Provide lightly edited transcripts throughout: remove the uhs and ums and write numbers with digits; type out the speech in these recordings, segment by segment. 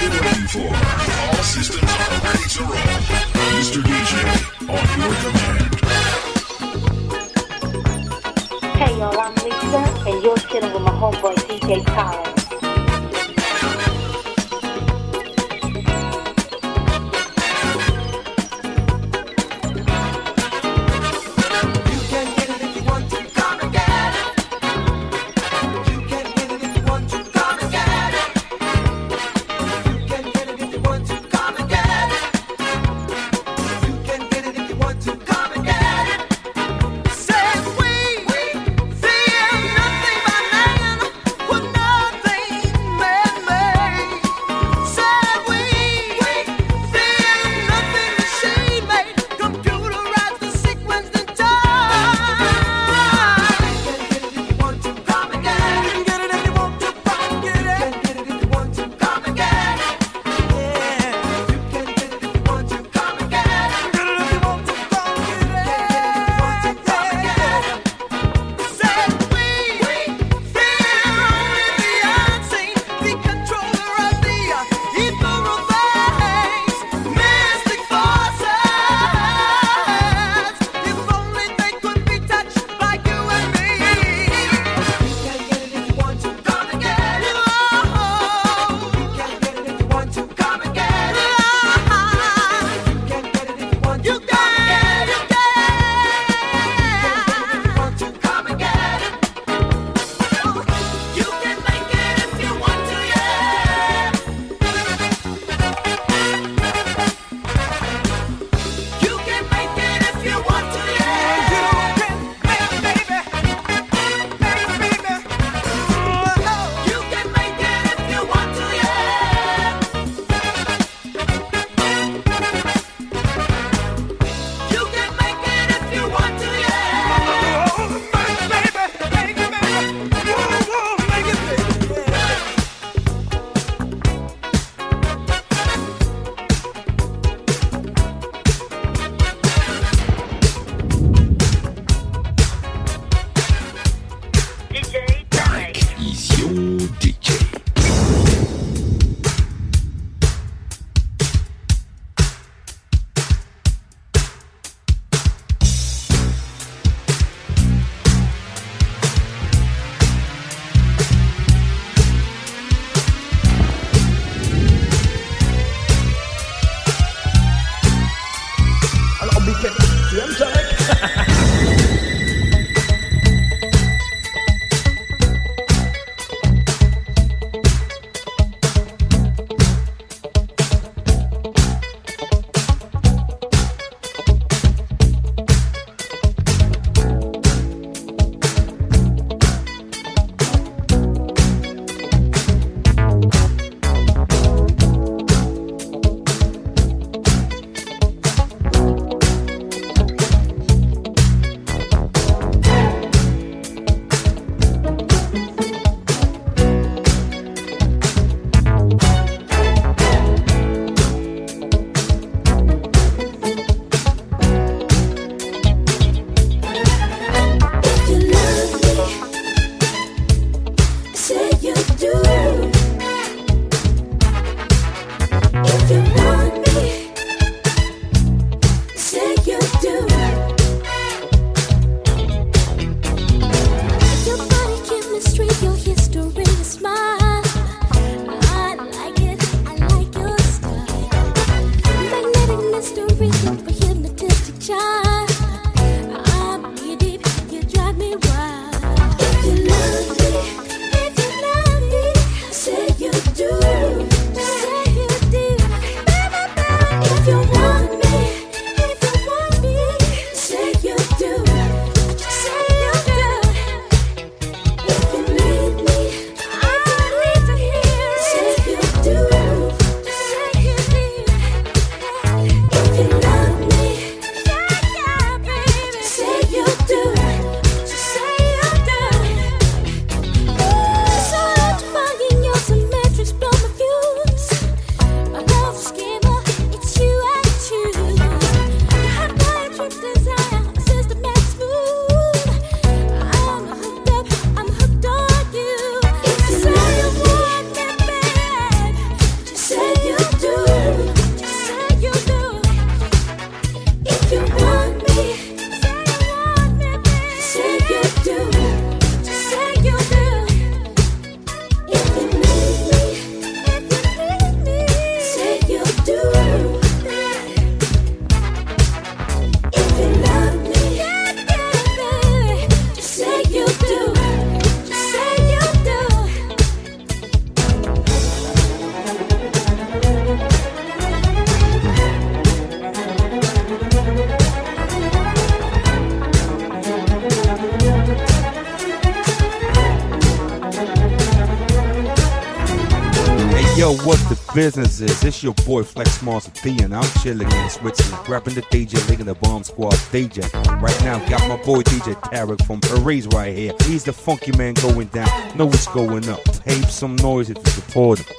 been waiting for. All systems are ready to roll. Mr. DJ, on your command. Hey y'all, I'm Lisa, and you're chilling with my homeboy DJ Khaled. Said we feel nothing but man. Yo, what the business is? It's your boy Flex Mars B, and I'm chilling in Switzerland, grabbing the DJ, linking the Bomb Squad DJ. Right now, got my boy DJ Tarek from Paris right here. He's the funky man going down. Know what's going up. Tape some noise if you support him.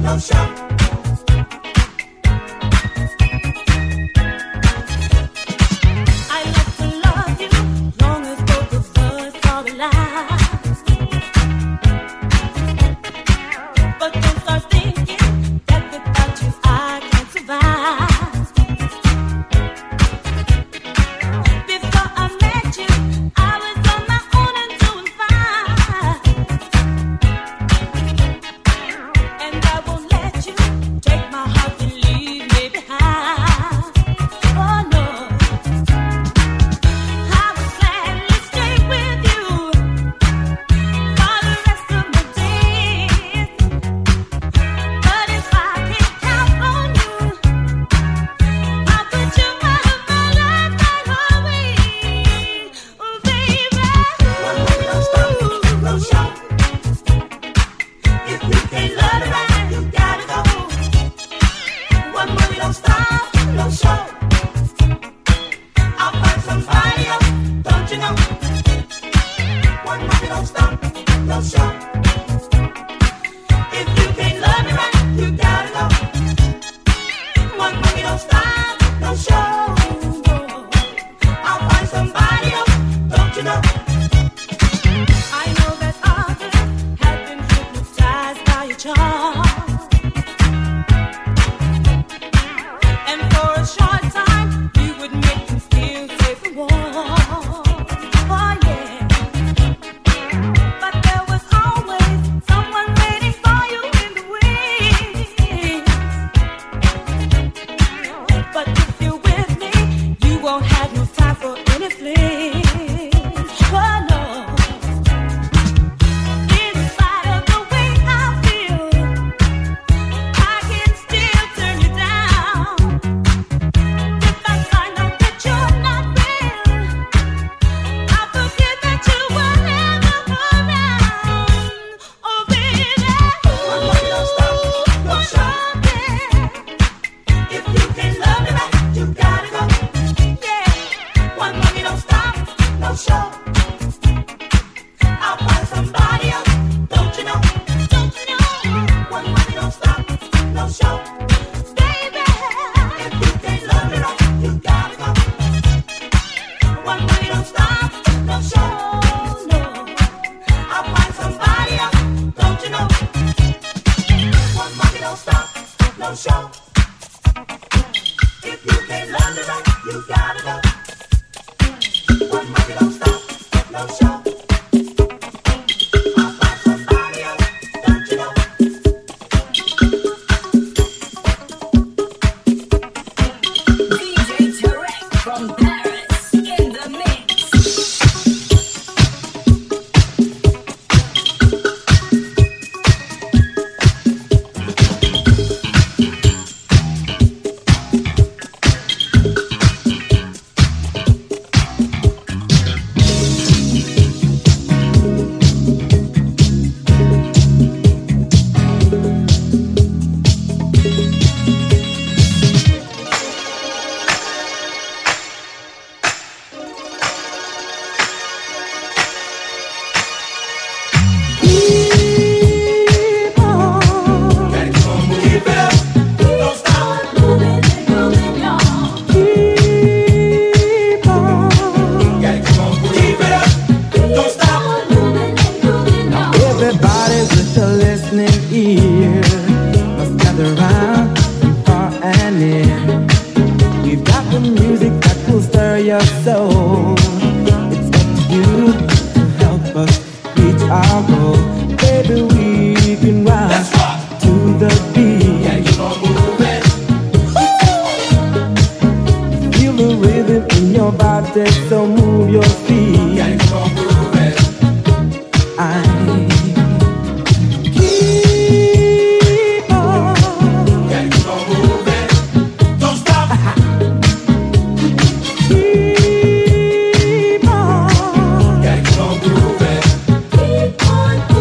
Keep on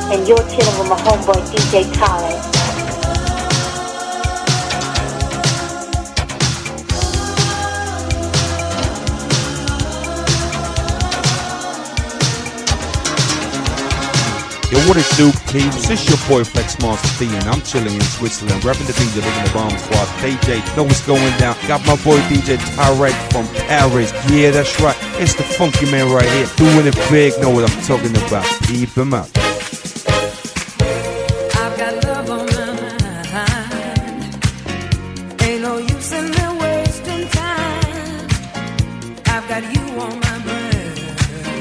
and you're chilling with my homeboy DJ Tarek. Yo, what it do, peeps? It's your boy Flex Master D, and I'm chilling in Switzerland, repping the DJ, living the bomb squad. DJ, know what's going down. Got my boy DJ Tarek from Paris. Yeah, that's right. It's the funky man right here, doing it big. Know what I'm talking about. Keep him up. I've got love on my mind. Ain't no use in me wasting time. I've got you on my brain.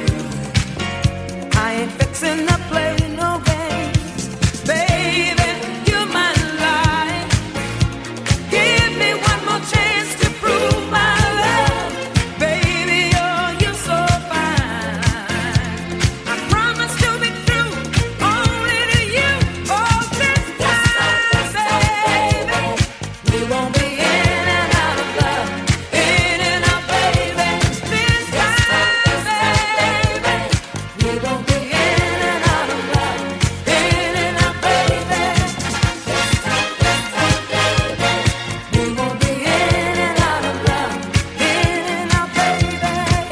I ain't fixing to play no games. Baby, you're my life. Give me one more chance to prove my love. Baby, you're so fine. I promise to be true, only to you. All this time, baby. We won't be in and out of love, in and out, baby. This time, baby. We won't be in and out of love, in and out, baby. We won't be in and out of love, in and out, baby.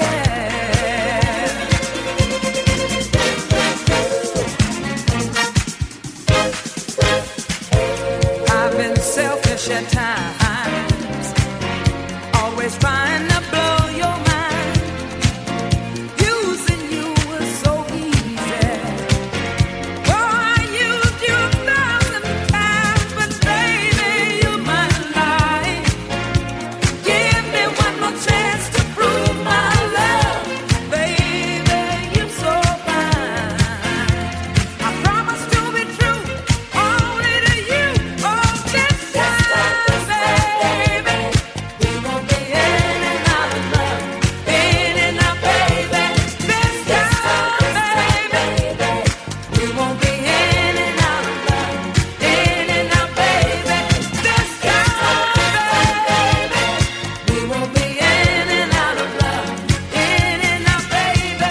I've been selfish at times, always trying to blow your mind. Using you was so easy. Oh, I used you 1,000 times, but baby, you're my life. Give me one more chance to prove my love. Baby, you're so fine. I promise to be true, only to you. Oh, this time, baby. We won't be in and out of love, in and out, baby. This time, baby. We won't be in and out of love, in and out, baby. This time, baby. We won't be in and out of love, in and out, baby.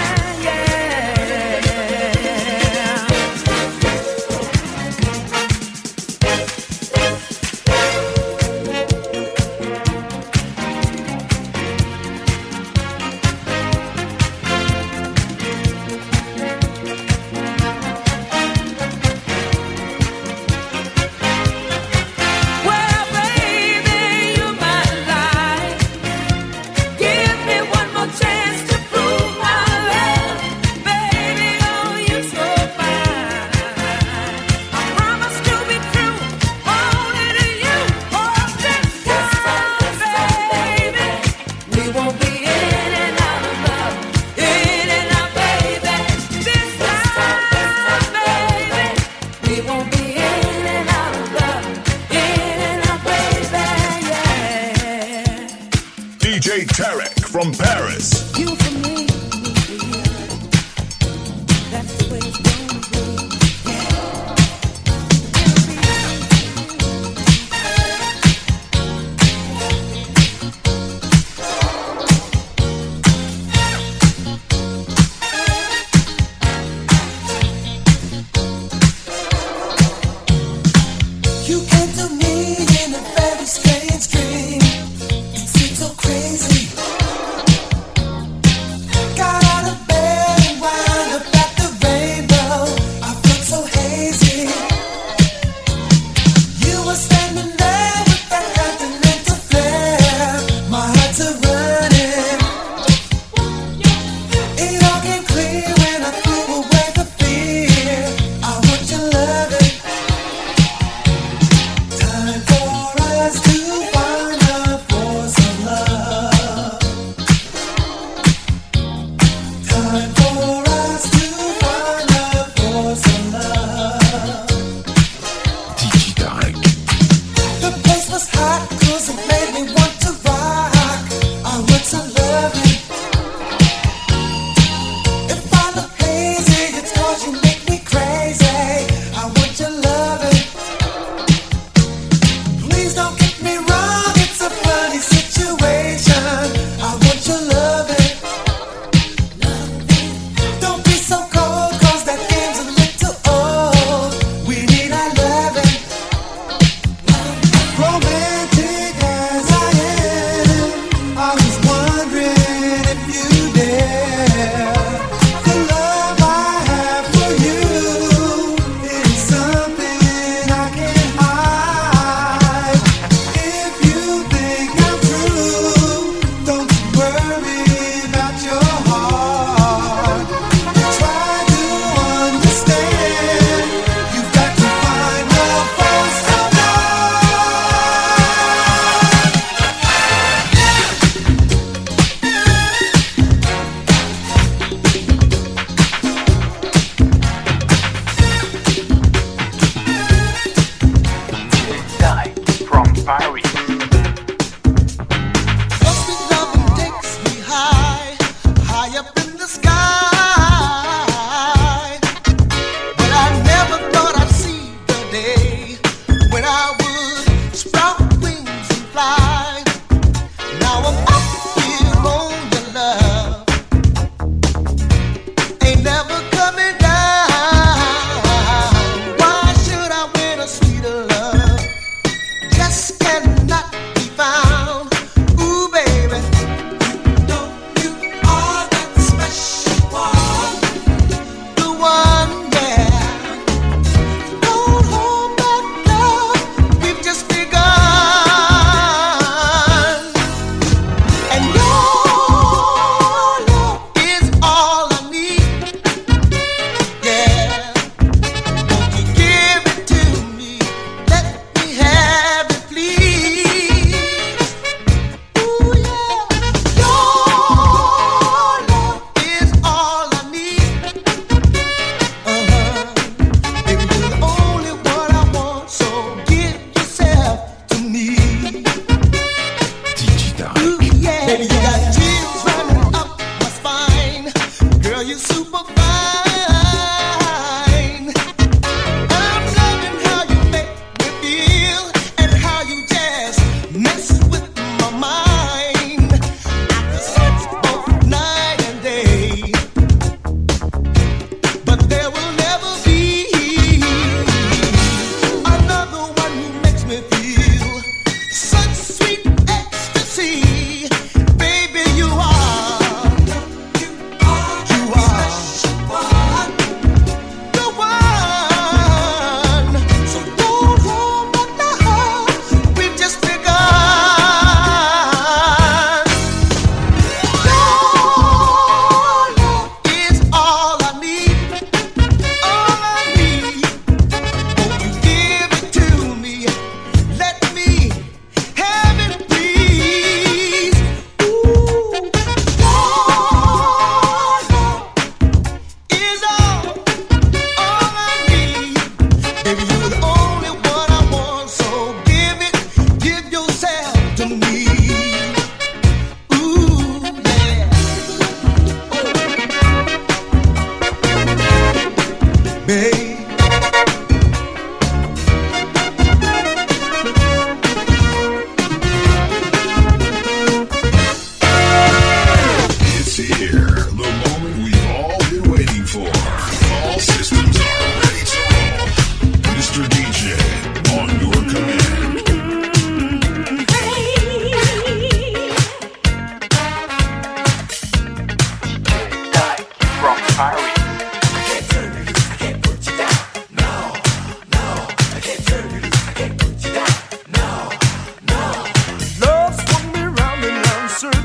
Well, baby, you're my life. Give me one more chance to prove my love. Baby, oh, you're so fine. I promise to be true, only to you. Oh, this time, baby. We won't be in and out of love, in and out, baby. This time, baby. We won't be in and out of love, in and out, baby. Yeah. DJ Tarek from Paris. You for me, me for you. That's the way it's gonna be. You came to me in a very strange dream. It seemed so crazy.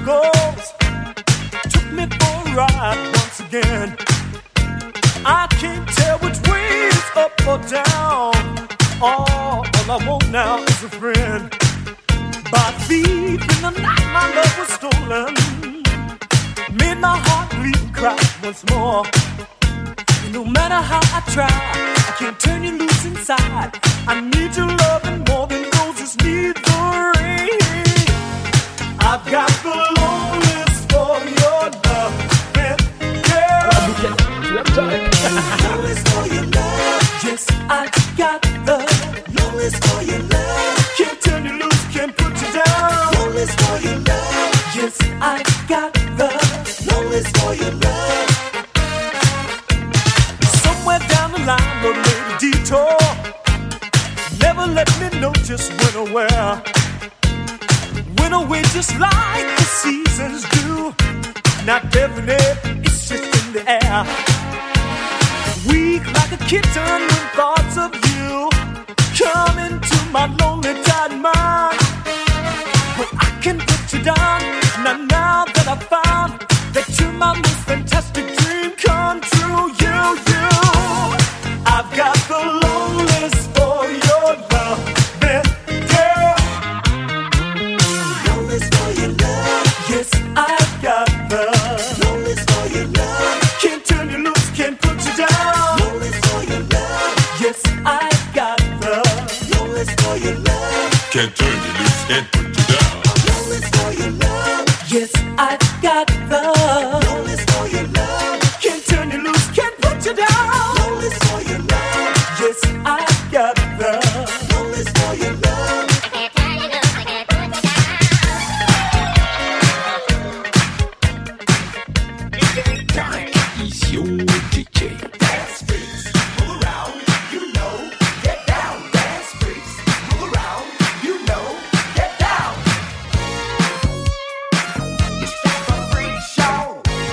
goes. Took me for a ride once again. I can't tell which way is up or down. All I want now is a friend. By thief in the night, my love was stolen. Made my heart bleed and cry once more. And no matter how I try, I can't turn you loose inside. I need your loving more than roses need the rain. I've got the loneliest for your love, girl. Loneliest for your love. Yes, I got the loneliest for your love. Can't turn you loose, can't put you down. Loneliest for your love. Yes, I got the loneliest for your love. Somewhere down the line, no little detour. Never let me know just when or where. Went away just like the seasons do. Not definite, it's just in the air. Weak like a kitten when thoughts of you come into my lonely tired mind. But I can put you down, now that I found that you're my most fantastic dream come true. You, I've got the loneliest for your love, girl. Loneliest for your love. Yes, I've got the loneliest for your love. Can't turn you loose, can't put you down. Loneliest for your love. Yes, I've got the loneliest for your love. Can't turn you loose, can't put you down. Loneliest for your love. Yes, I've got the loneliest for your love. Can't turn you loose, can't put you down. Loneliest for your love. Yes, I've got the loneliest for your love. He's your DJ. Dance freaks, move around, you know, get down. Dance freaks, move around, you know, get down. It's time for freak show.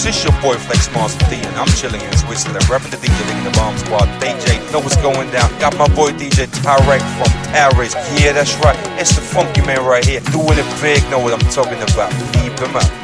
This your boy Flex Master D, and I'm chilling in Switzerland, repping the DJ in the Bomb Squad. DJ, know what's going down. Got my boy DJ Tarek from Paris. Yeah, that's right. It's the funky man right here, doing it big. Know what I'm talking about. Keep him up.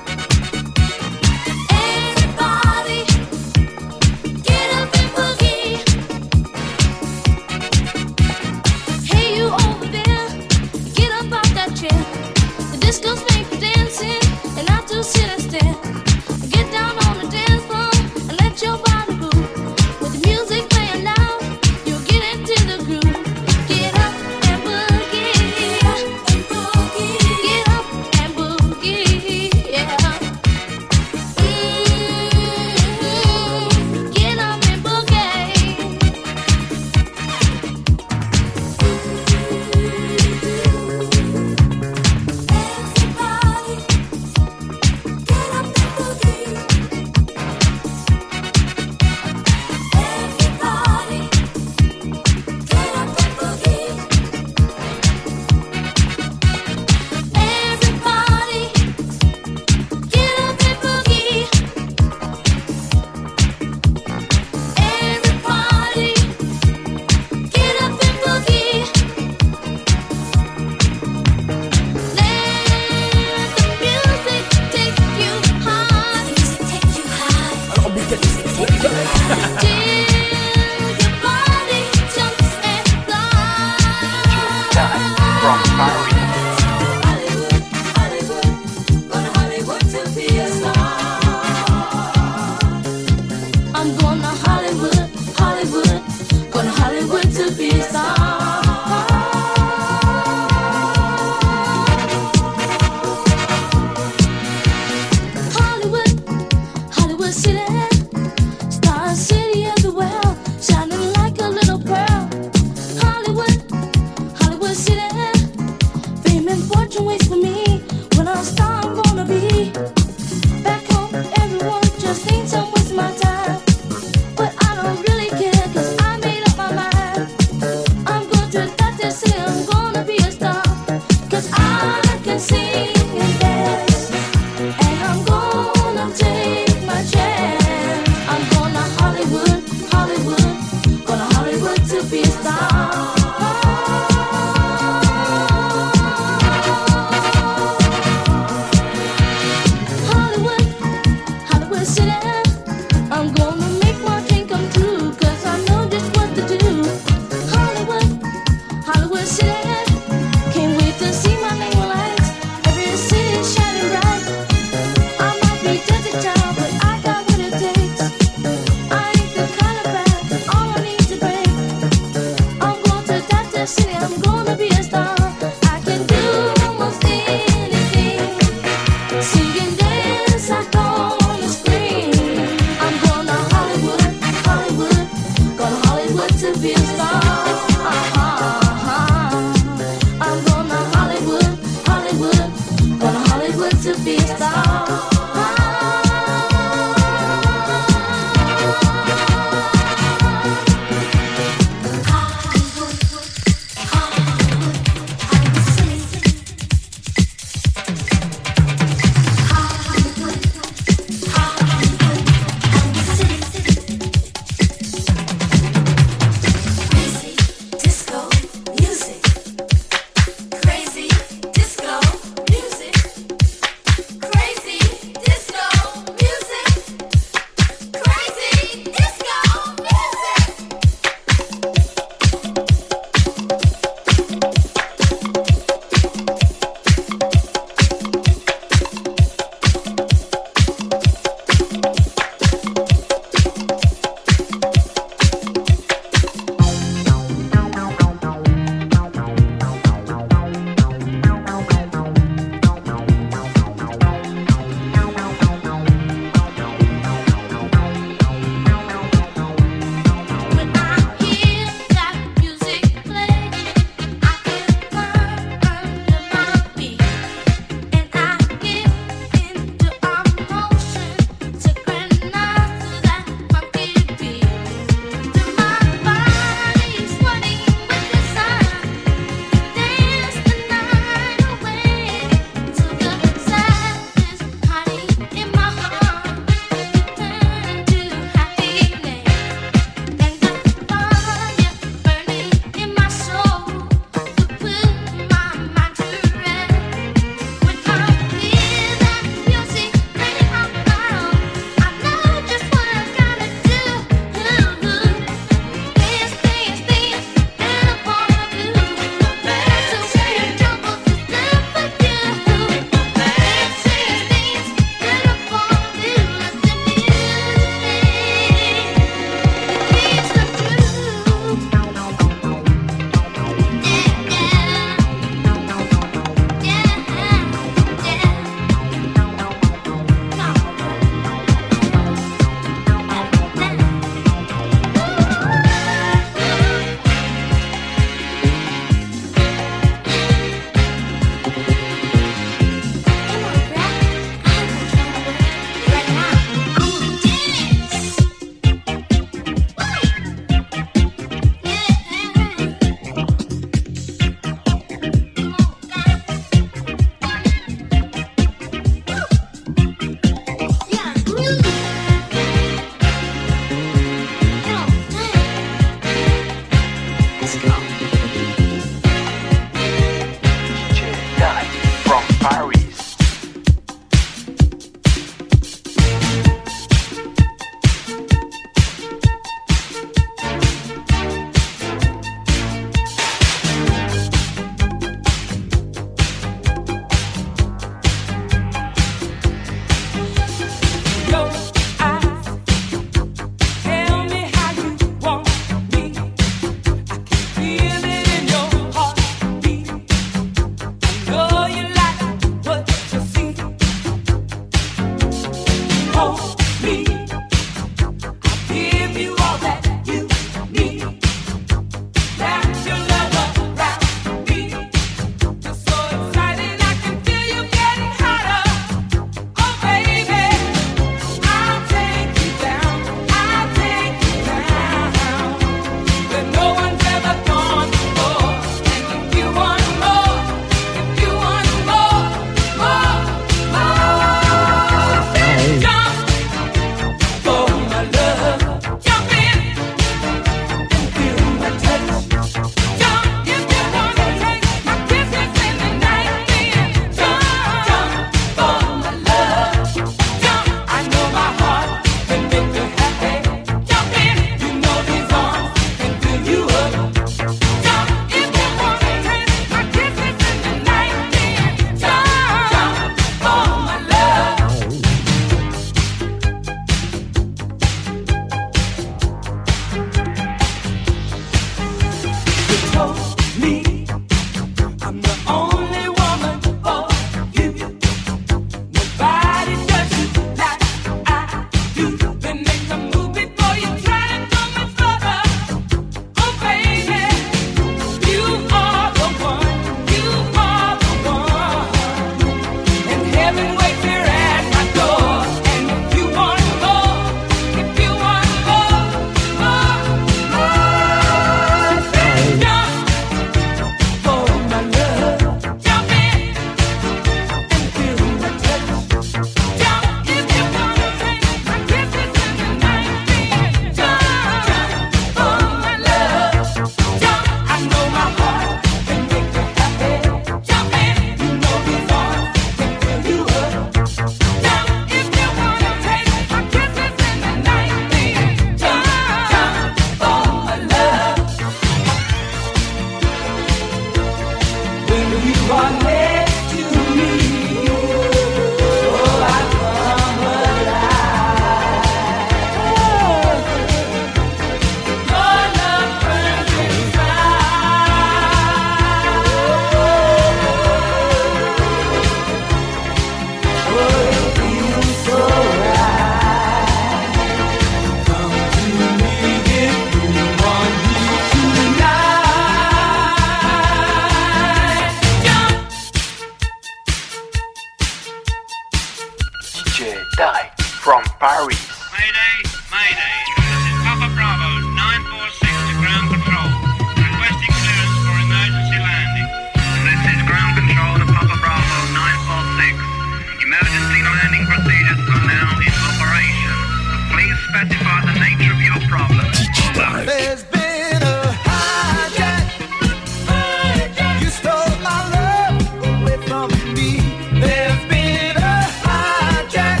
Tarek from Paris. Mayday, Mayday. This is Papa Bravo 946 to ground control. Requesting clearance for emergency landing. This is ground control to Papa Bravo 946. Emergency landing procedures are now in operation. Please specify the nature of your problem. There's been a hijack. You stole my love away from me. There's been a hijack.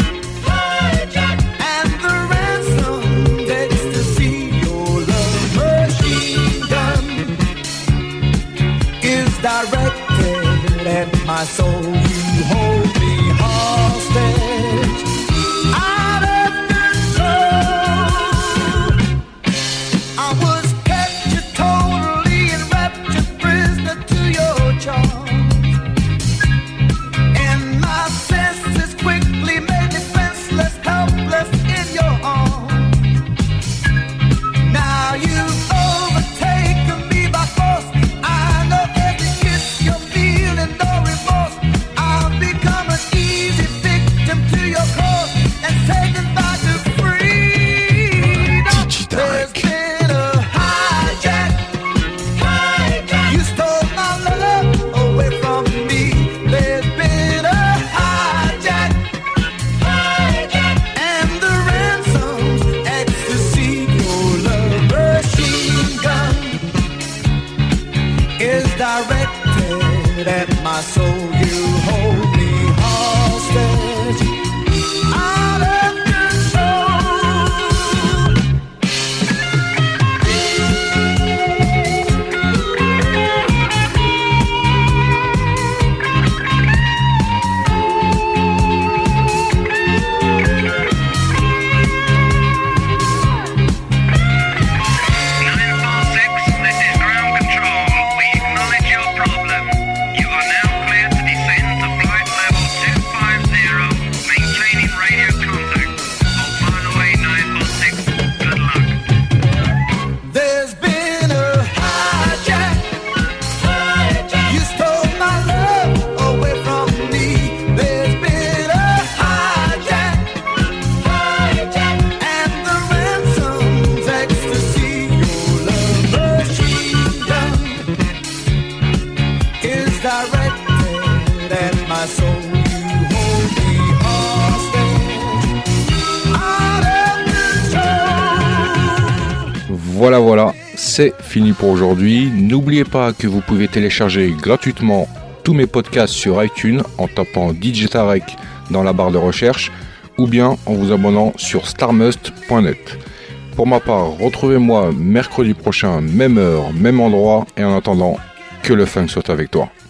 And the ransom ecstasy, your love machine gun is directed at my soul. You hold me hostage. Out of control. I was captured, totally enraptured, prisoner to your charms. And my senses quickly made me defenseless, helpless in your arms. Now you've overtaken me by force. I know every kiss you're feeling, no remorse. I've become an easy victim to your cause and taken back to freedom. There's been a hijack. You stole my love away from me. There's been a hijack. And the ransom's ecstasy, your love machine gun is directed at my soul. You hold me hostage. Out of control. This is ground control. We acknowledge your problem. You are now cleared to descend to flight level 250, maintaining radio contact. Hold file away 946. Good luck. There's been a hijack. You stole my love away from me. There's been a hijack. And the ransom's ecstasy, your love machine gun is directed at my soul. You hold me hostage. Out of control. Voilà, c'est fini pour aujourd'hui. N'oubliez pas que vous pouvez télécharger gratuitement tous mes podcasts sur iTunes en tapant DJ Tarek dans la barre de recherche ou bien en vous abonnant sur starmust.net. Pour ma part, retrouvez-moi mercredi prochain, même heure, même endroit, et en attendant, que le funk soit avec toi.